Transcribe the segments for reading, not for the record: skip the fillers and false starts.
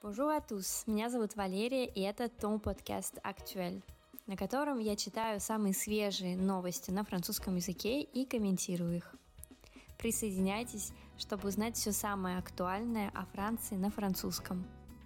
Bonjour à tous, меня зовут Валерия, и это Ton подкаст Actuel, на котором я читаю самые свежие новости на французском языке и комментирую их. Присоединяйтесь, чтобы узнать все самое актуальное о Франции на французском.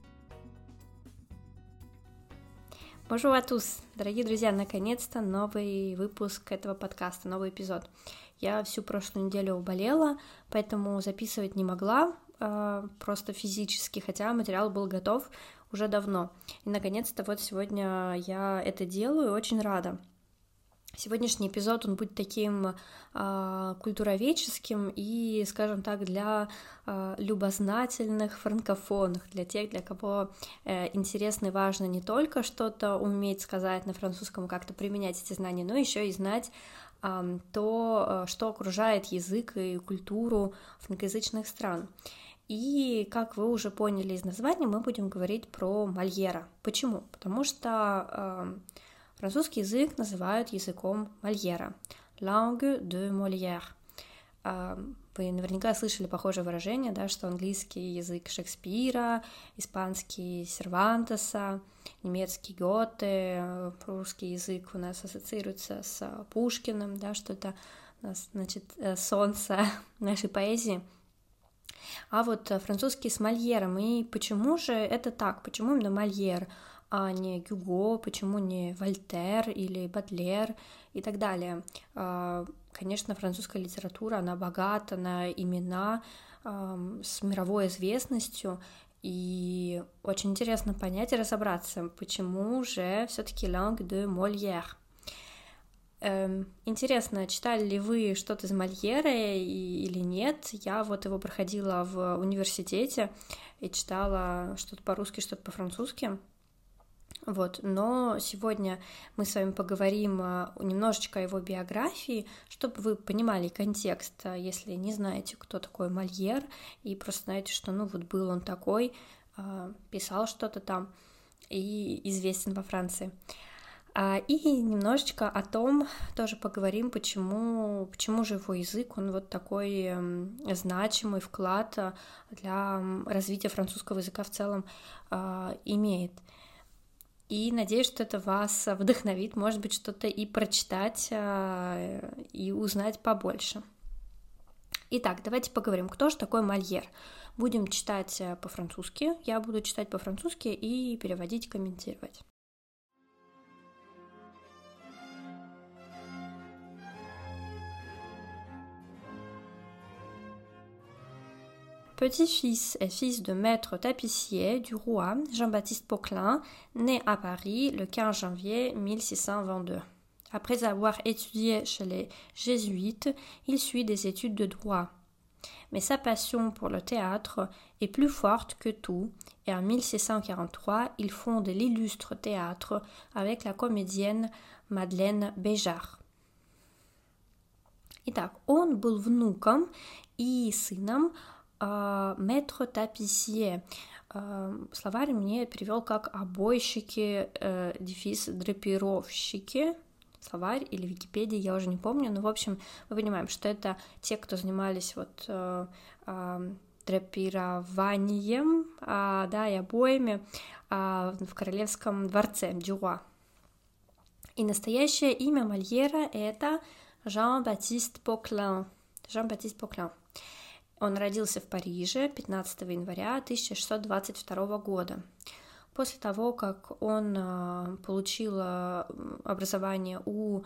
Bonjour à tous, дорогие друзья, наконец-то новый выпуск этого подкаста, новый эпизод. Я всю прошлую неделю болела, поэтому записывать не могла, просто физически, хотя материал был готов уже давно. И наконец-то вот сегодня я это делаю, очень рада. Сегодняшний эпизод, он будет таким культуроведческим и, скажем так, для любознательных франкофонов, для тех, для кого интересно и важно не только что-то уметь сказать на французском, как-то применять эти знания, но еще и знать то, что окружает язык и культуру франкоязычных стран. И, как вы уже поняли из названия, мы будем говорить про Мольера. Почему? Потому что французский язык называют языком Мольера. Langue de Molière. Вы наверняка слышали похожее выражение, да, что английский язык Шекспира, испанский Сервантеса, немецкий Гёте, русский язык у нас ассоциируется с Пушкиным, да, что это, значит, солнце нашей поэзии. А вот французский с Мольером. И почему же это так? Почему именно Мольер, а не Гюго? Почему не Вольтер или Бодлер и так далее? Конечно, французская литература, она богата на имена с мировой известностью, и очень интересно понять и разобраться, почему же все-таки langue de Molière. Интересно, читали ли вы что-то из Мольера или нет? Я вот его проходила в университете и читала что-то по-русски, что-то по-французски. Вот. Но сегодня мы с вами поговорим немножечко о его биографии, чтобы вы понимали контекст, если не знаете, кто такой Мольер, и просто знаете, что вот был он такой, писал что-то там и известен во Франции. И немножечко о том тоже поговорим, почему же его язык, он вот такой значимый вклад для развития французского языка в целом имеет. И надеюсь, что это вас вдохновит, может быть, что-то и прочитать, и узнать побольше. Итак, давайте поговорим, кто же такой Мольер. Будем читать по-французски, я буду читать по-французски и переводить, комментировать. Petit-fils et fils de maître tapissier du roi Jean-Baptiste Poquelin, né à Paris le 15 janvier 1622. Après avoir étudié chez les jésuites, il suit des études de droit. Mais sa passion pour le théâtre est plus forte que tout, et en 1643, il fonde l'illustre théâtre avec la comédienne Madeleine Béjart. Итак, он был внуком и сыном maître tapissier. Словарь мне перевел как обойщики, дефис драпировщики. Словарь или Википедия, я уже не помню, но в общем мы понимаем, что это те, кто занимались драпированием, и обоями в королевском дворце Дюруа. И настоящее имя Мольера это Jean-Baptiste Poquelin. Jean-Baptiste Poquelin. Он родился в Париже 15 января 1622 года. После того, как он получил образование у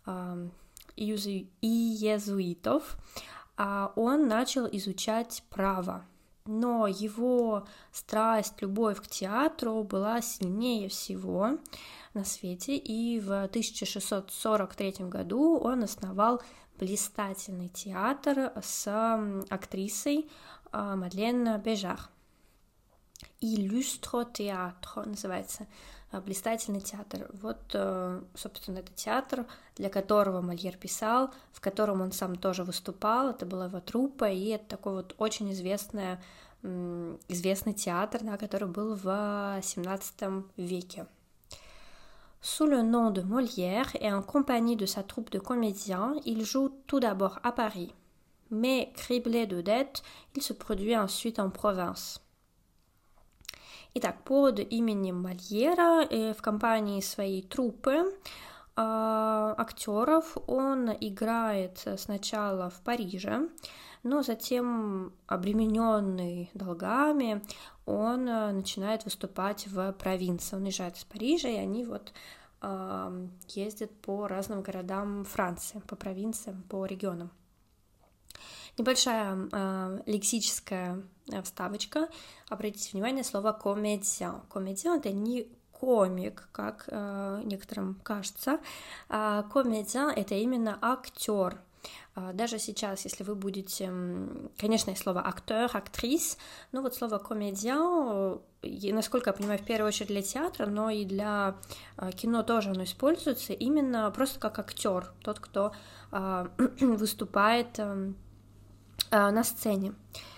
иезуитов, он начал изучать право. Но его страсть, любовь к театру была сильнее всего на свете, и в 1643 году он основал блистательный театр с актрисой Мадлен Бежар. Illustre théâtre называется, блистательный театр. Вот, собственно, это театр, для которого Мольер писал, в котором он сам тоже выступал, это была его труппа, и это такой вот очень известный театр, который был в XVII веке. Sous le nom de Molière et en compagnie de sa troupe de comédiens, il joue tout d'abord à Paris. Mais criblé de dettes, il se produit ensuite en province. Итак, под именем Мольера в компании своей труппы актеров он играет сначала в Париже, но затем, обремененный долгами, он начинает выступать в провинции. Он уезжает из Парижа, и они вот ездят по разным городам Франции, по провинциям, по регионам. Небольшая лексическая вставочка. Обратите внимание, слово «комедиан». «Комедиан» — это не комик, как некоторым кажется. «Комедиан» — это именно актер. Даже сейчас, если вы будете... Конечно, есть слово «актер», «актрис», но вот слово «комедиан», насколько я понимаю, в первую очередь для театра, но и для кино тоже оно используется именно просто как актер, тот, кто выступает на сцене.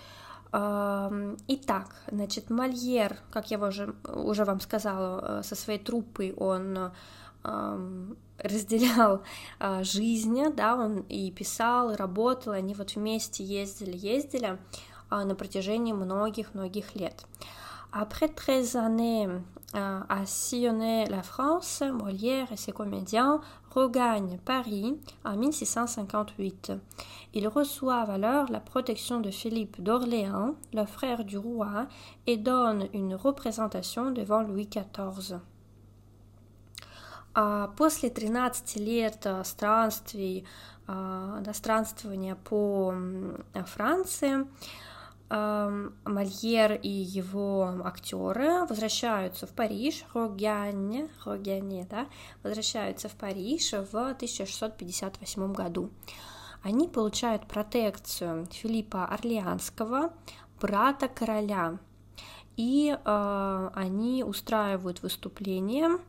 Итак, значит, Мольер, как я уже вам сказала, со своей труппой он разделял жизнь, да, он и писал, и работал, они вот вместе ездили на протяжении многих лет. Après 13 années à sillonner la France, Molière et ses comédiens regagnent Paris en 1658. Ils reçoivent alors la protection de Philippe d'Orléans, le frère du roi, et donnent une représentation devant Louis XIV. После 13 лет странствования по Франции, Мольер и его актеры возвращаются в Париж, возвращаются в Париж в 1658 году. Они получают протекцию Филиппа Орлеанского, брата короля, и они устраивают выступление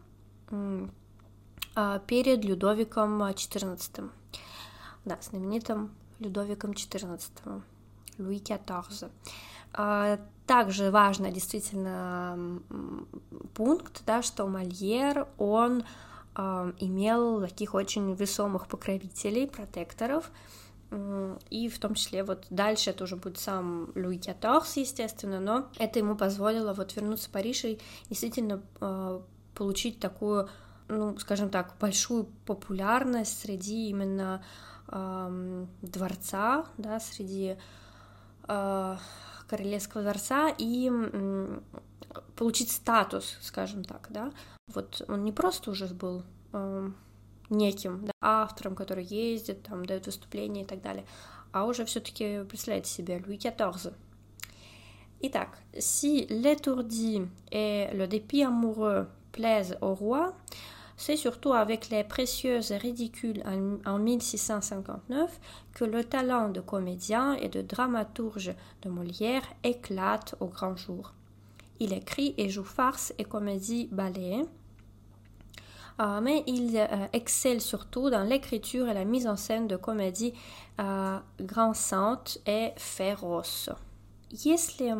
перед Людовиком XIV, да, знаменитым Людовиком XIV. Луи XIV. Также важный действительно пункт, да, что Мольер, он имел таких очень весомых покровителей, протекторов, и в том числе вот дальше это уже будет сам Луи XIV, естественно, но это ему позволило вот вернуться в Париж и действительно получить такую, ну, скажем так, большую популярность среди именно дворца, да, среди королевского дворца и получить статус, скажем так, да. Вот он не просто уже был неким, да, автором, который ездит, там, дает выступления и так далее, а уже все-таки, представляете себе, Луи XIV. Итак, si l'étourdi et le dépit amoureux plaisent au roi, c'est surtout avec les précieuses ridicules en 1659 que le talent de comédien et de dramaturge de Molière éclate au grand jour. Il écrit et joue farce et comédie-ballet, mais il excelle surtout dans l'écriture et la mise en scène de comédies grinçantes et féroces. Если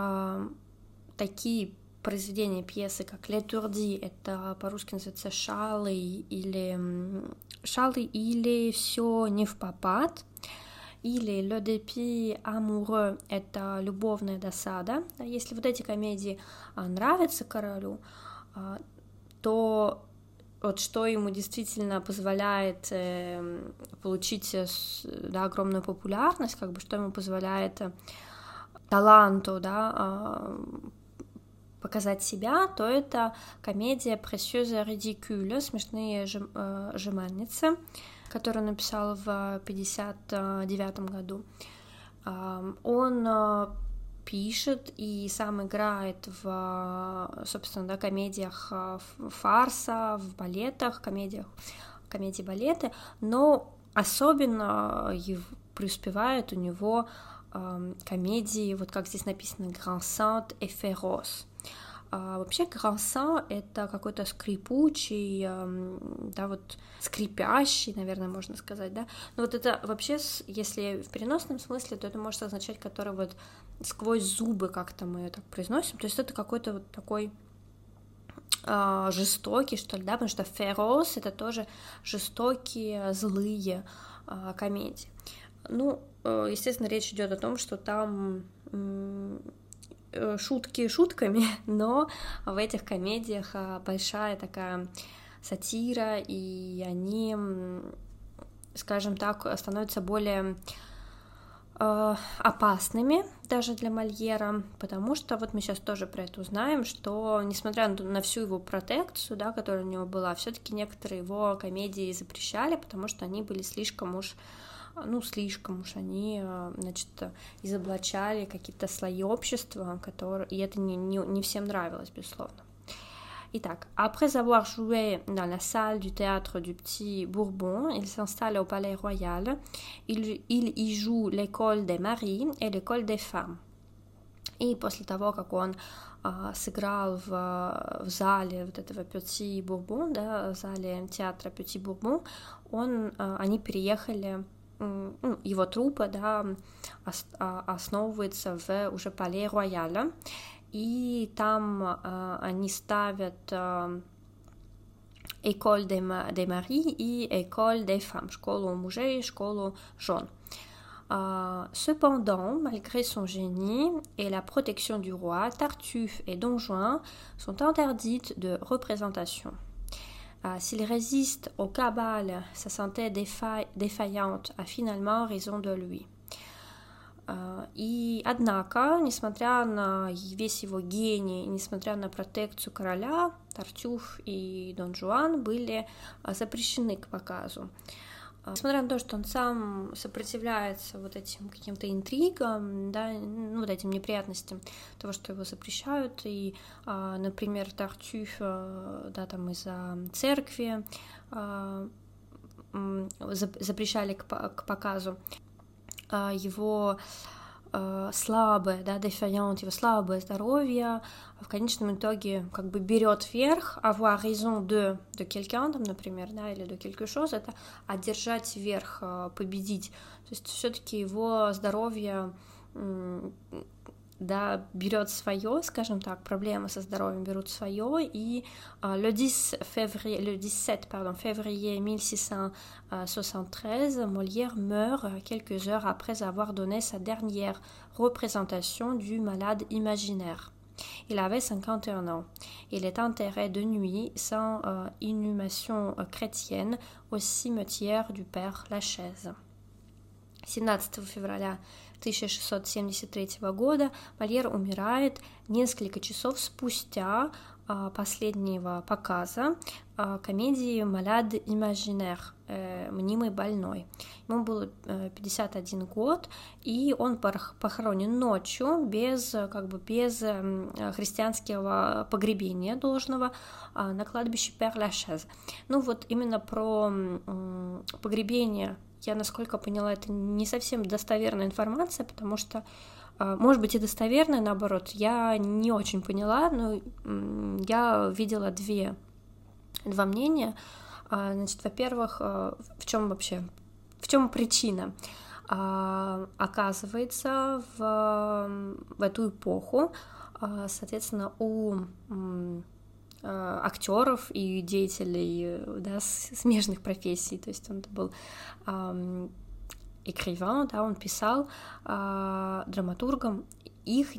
такие произведения, пьесы, как «L'étourdi», это по-русски называется «Шалы» или «Все невпопад», или «Le dépit amoureux» — это «Любовная досада». Если вот эти комедии нравятся королю, то вот что ему действительно позволяет получить, да, огромную популярность, как бы что ему позволяет таланту, да, показать себя, то это комедия «Précieuse ridicule», «Смешные жеманницы», которую он написал в 1959 году. Он пишет и сам играет в, собственно, да, комедиях фарса, в балетах, комедии-балеты, но особенно преуспевают у него комедии, вот как здесь написано, «Grinçantes et féroces». Вообще грансant — это какой-то скрипучий, да, вот скрипящий, наверное, можно сказать, да, но вот это вообще, если в переносном смысле, то это может означать, который вот сквозь зубы как-то мы так произносим, то есть это какой-то вот такой жестокий, что ли, да, потому что féroce — это тоже жестокие, злые комедии. Ну, естественно, речь идет о том, что там шутки шутками, но в этих комедиях большая такая сатира, и они, скажем так, становятся более опасными даже для Мольера, потому что вот мы сейчас тоже про это узнаем, что несмотря на всю его протекцию, да, которая у него была, все-таки некоторые его комедии запрещали, потому что они были слишком уж они, значит, изоблачали какие-то слои общества, и это не всем нравилось, безусловно. Итак, après avoir joué dans la salle du théâtre du Petit Bourbon, il s'installe au Palais Royal. Il y joue l'école des maris et l'école des femmes. И после того, как он сыграл в зале вот этого Petit Bourbon, да, в зале театра Petit Bourbon, они переехали, его труппа, да, основывается в уже Palais Royal. И там они ставят École des maris и École des femmes, школу мужей, школу жен. Cependant, malgré son génie et la protection du roi, Tartuffe et Don Juan sont interdites de représentation. S'il résiste aux cabales, sa santé défaillante a finalement raison de lui. И однако, несмотря на весь его гений, несмотря на протекцию короля, Тартюф и Дон Жуан были запрещены к показу. Несмотря на то, что он сам сопротивляется вот этим каким-то интригам, да, вот этим неприятностям того, что его запрещают, и, например, Тартюф, да, там из-за церкви запрещали к показу, его слабое, да, défaillante, его слабое здоровье в конечном итоге как бы берет верх, avoir raison de quelqu'un, там, например, да, или de quelque chose, это одержать верх, победить, то есть все-таки его здоровье, да, берет свое, скажем так, проблемы со здоровьем берут свое, и le 17 février 1673, Molière meurt quelques heures après avoir donné sa dernière représentation du malade imaginaire. Il avait 51 ans. Il est enterré de nuit sans inhumation chrétienne au cimetière du Père Lachaise. 17 февраля 1673 года Мольер умирает несколько часов спустя последнего показа комедии «Malade imaginaire», «Мнимый больной». Ему было 51 год, и он похоронен ночью без христианского погребения должного на кладбище Пер-Лашез. Ну вот именно про погребение, я, насколько поняла, это не совсем достоверная информация, потому что, может быть, и достоверная, наоборот, я не очень поняла, но я видела два мнения. Значит, во-первых, в чем причина? Оказывается, в эту эпоху, соответственно, у актеров и деятелей, да, смежных профессий, то есть он был écrivain, да, он писал драматургом, их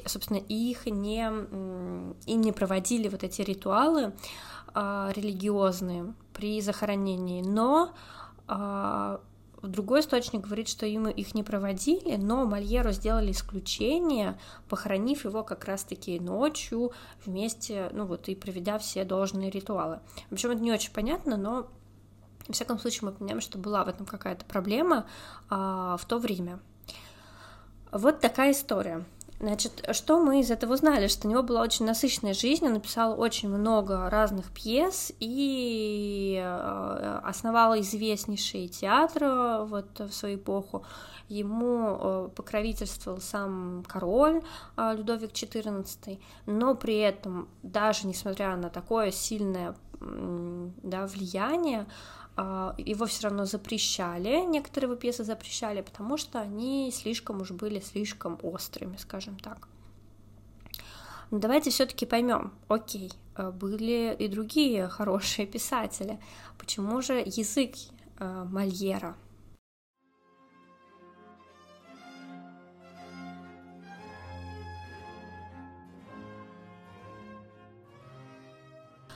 не проводили вот эти ритуалы религиозные при захоронении, но другой источник говорит, что их не проводили, но Мольеру сделали исключение, похоронив его как раз-таки ночью вместе, ну вот, и проведя все должные ритуалы. В общем, это не очень понятно, но, во всяком случае, мы понимаем, что была в этом какая-то проблема в то время. Вот такая история. Значит, что мы из этого узнали? Что у него была очень насыщенная жизнь, он написал очень много разных пьес и основал известнейший театр вот в свою эпоху. Ему покровительствовал сам король Людовик XIV, но при этом, даже несмотря на такое сильное, да, влияние, его все равно запрещали, некоторые его пьесы запрещали, потому что они были слишком острыми, скажем так. Но давайте все-таки поймем, окей, были и другие хорошие писатели, почему же язык Мольера?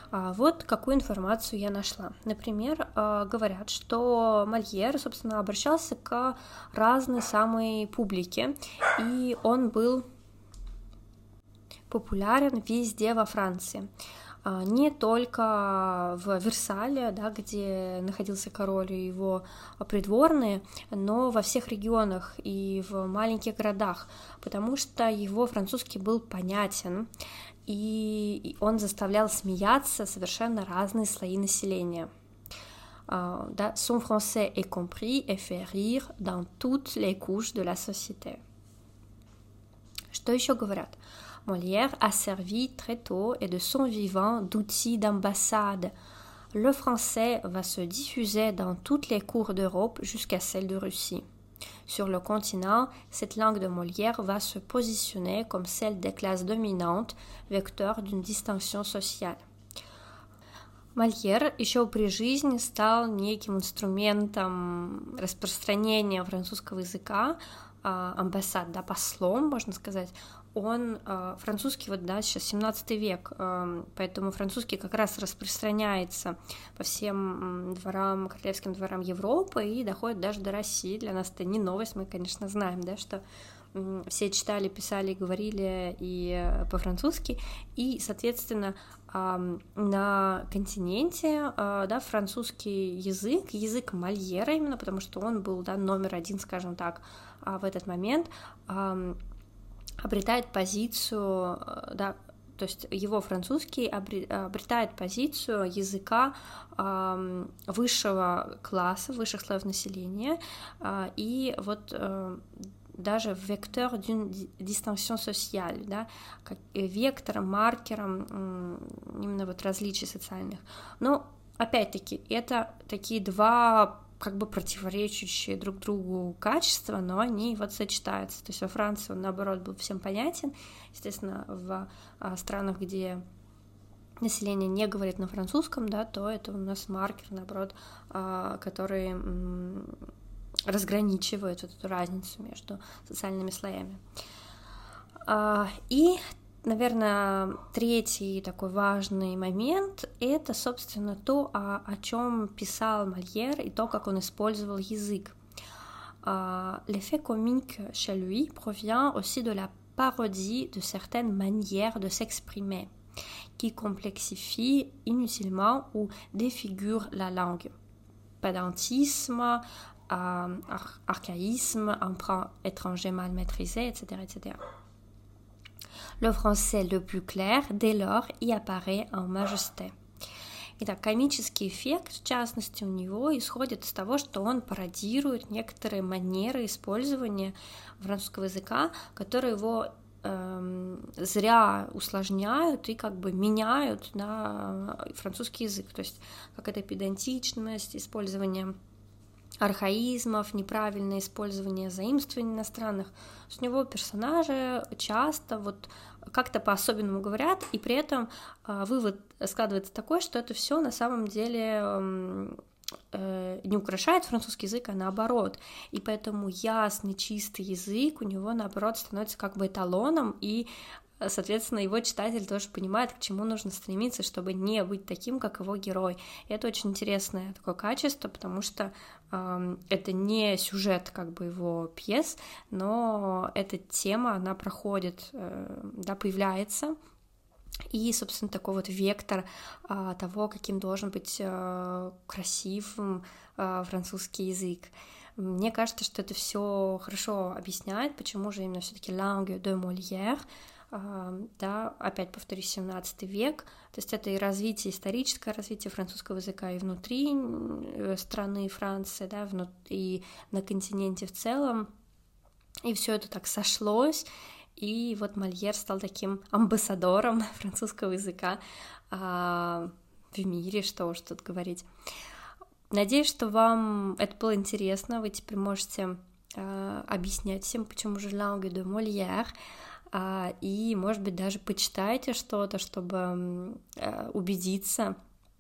Вот какую информацию я нашла. Например, говорят, что Мольер, собственно, обращался к разной самой публике, и он был популярен везде во Франции. Не только в Версале, да, где находился король и его придворные, но во всех регионах и в маленьких городах, потому что его французский был понятен, и он заставлял смеяться совершенно разные слои населения. Да, son français est compris et fait rire dans toutes les couches de la société. Что еще говорят? Molière a servi très tôt et de son vivant d'outil d'ambassade. Le français va se diffuser dans toutes les cours d'Europe jusqu'à celle de Russie. Sur le continent, cette langue de Molière va se positionner comme celle des classes dominantes, vecteur d'une distinction sociale. Мольер еще при жизни стал неким инструментом распространения французского языка, амбассад, да, послом, можно сказать. Он французский, вот, да, сейчас 17 век, поэтому французский как раз распространяется по всем дворам, королевским дворам Европы и доходит даже до России. Для нас это не новость, мы, конечно, знаем, да, что все читали, писали, говорили и по-французски, и, соответственно, на континенте, да, французский язык Мольера именно, потому что он был, да, номер один, скажем так, в этот момент, обретает позицию, да, то есть его французский обретает позицию языка высшего класса, высших слоев населения, и вот даже вектор d'une distinction sociale, да, как вектором, маркером именно вот различий социальных. Но опять-таки это такие два как бы противоречащие друг другу качества, но они вот сочетаются. То есть во Франции он, наоборот, был всем понятен. Естественно, в странах, где население не говорит на французском, да, то это у нас маркер, наоборот, который разграничивает вот эту разницу между социальными слоями. И, наверное, третий такой важный момент — это, собственно, то, о чем писал Мольер и то, как он использовал язык. L'effet comique chez lui provient aussi de la parodie de certaines manières de s'exprimer, qui complexifient inutilement ou défigurent la langue. Pédantisme, archaïsme, emprunt étranger mal maîtrisé, etc., etc. Le français le plus clair, dès lors, y apparaît en majesté. Итак, комический эффект, в частности, у него исходит из того, что он пародирует некоторые манеры использования французского языка, которые его зря усложняют и как бы меняют на французский язык. То есть какая-то педантичность, использование архаизмов, неправильное использование заимствований иностранных. У него персонажи часто вот как-то по-особенному говорят, и при этом вывод складывается такой, что это все на самом деле не украшает французский язык, а наоборот. И поэтому ясный, чистый язык у него, наоборот, становится как бы эталоном, и, соответственно, его читатель тоже понимает, к чему нужно стремиться, чтобы не быть таким, как его герой. И это очень интересное такое качество, потому что это не сюжет как бы его пьес, но эта тема, она проходит, да, появляется, и, собственно, такой вот вектор того, каким должен быть красивым французский язык. Мне кажется, что это все хорошо объясняет, почему же именно все-таки langue de Molière, да, опять повторюсь, 17 век, то есть это и развитие, историческое развитие французского языка и внутри страны Франции, да, и на континенте в целом, и все это так сошлось, и вот Мольер стал таким амбассадором французского языка в мире, что уж тут говорить. Надеюсь, что вам это было интересно, вы теперь можете объяснять всем, почему же langue de Molière, и, может быть, даже почитайте что-то, чтобы убедиться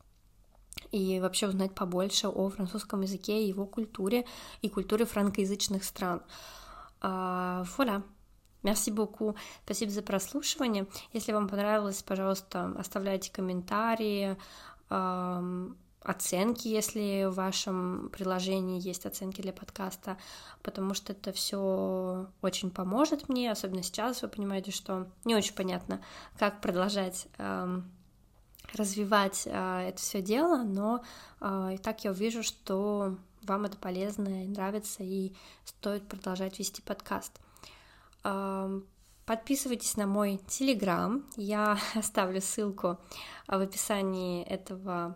и вообще узнать побольше о французском языке и его культуре, и культуре франкоязычных стран. Voilà. Merci beaucoup. Спасибо за прослушивание. Если вам понравилось, пожалуйста, оставляйте комментарии, оценки, если в вашем приложении есть оценки для подкаста, потому что это все очень поможет мне, особенно сейчас вы понимаете, что не очень понятно, как продолжать развивать это все дело, но и так я увижу, что вам это полезно и нравится, и стоит продолжать вести подкаст. Подписывайтесь на мой Telegram, я оставлю ссылку в описании этого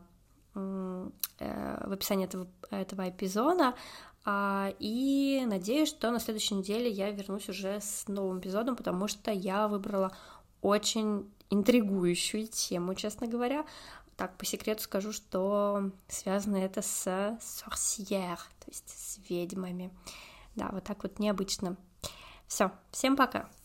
эпизода, и надеюсь, что на следующей неделе я вернусь уже с новым эпизодом, потому что я выбрала очень интригующую тему, честно говоря. Так, по секрету скажу, что связано это с sorcière, то есть с ведьмами. Да, вот так вот необычно. Все, всем пока!